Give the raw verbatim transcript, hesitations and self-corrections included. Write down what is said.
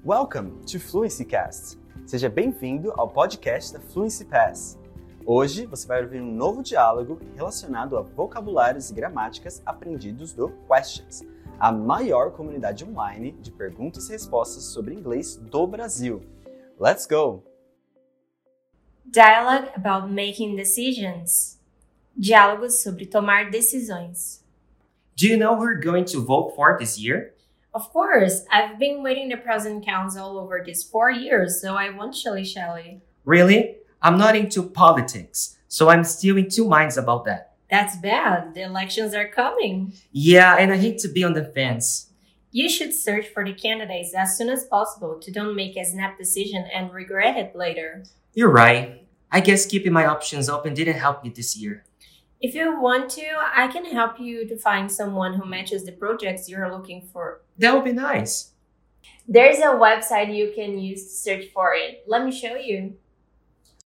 Welcome to FluencyCast. Seja bem-vindo ao podcast da Fluency Pass. Hoje você vai ouvir um novo diálogo relacionado a vocabulários e gramáticas aprendidos do Questions, a maior comunidade online de perguntas e respostas sobre inglês do Brasil. Let's go! Dialogue about making decisions. Diálogos sobre tomar decisões. Do you know who we're going to vote for this year? Of course, I've been waiting the President Council over these four years, so I want Shelley Shelley. Really? I'm not into politics, so I'm still in two minds about that. That's bad. The elections are coming. Yeah, and I hate to be on the fence. You should search for the candidates as soon as possible to don't make a snap decision and regret it later. You're right. I guess keeping my options open didn't help me this year. If you want to, I can help you to find someone who matches the projects you're looking for. That would be nice. There's a website you can use to search for it. Let me show you.